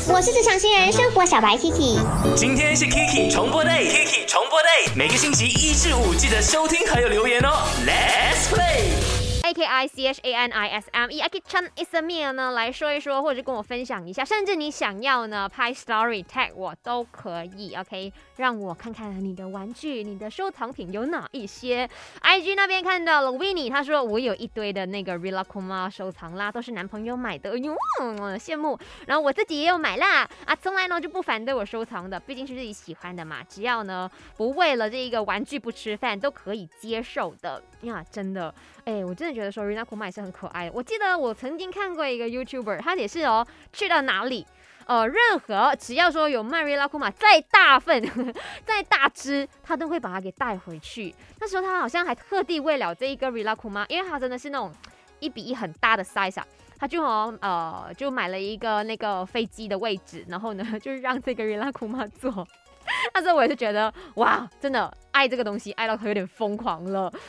我是职场新人生活小白 Kiki。 今天是 Kiki 重播 day，Kiki 重播 day， 每个星期1至5记得收听还有留言哦。Let's play。AKICHANISME，Aki Chan Ismia 呢来说一说，或者跟我分享一下，甚至你想要呢拍 story tag 我都可以 ，OK， 让我看看你的玩具、你的收藏品有哪一些。IG 那边看到了 Winnie， 他说我有一堆的那个 Rilakkuma 收藏啦，都是男朋友买的，哟，羡慕。然后我自己也有买啦，啊，从来呢就不反对我收藏的，毕竟是自己喜欢的嘛，只要呢不为了这个玩具不吃饭，都可以接受的呀，真的。我真的觉得说 Rilakkuma 也是很可爱的。我记得我曾经看过一个 YouTuber， 他也是去到哪里，任何只要说有卖 Rilakkuma 再大份、再大只，他都会把它给带回去。那时候他好像还特地为了这一个 Rilakkuma， 因为他真的是那种1:1很大的 size 啊，他就买了一个那个飞机的位置，然后呢就让这个 Rilakkuma 坐。那时候我也是觉得哇，真的爱这个东西爱到有点疯狂了。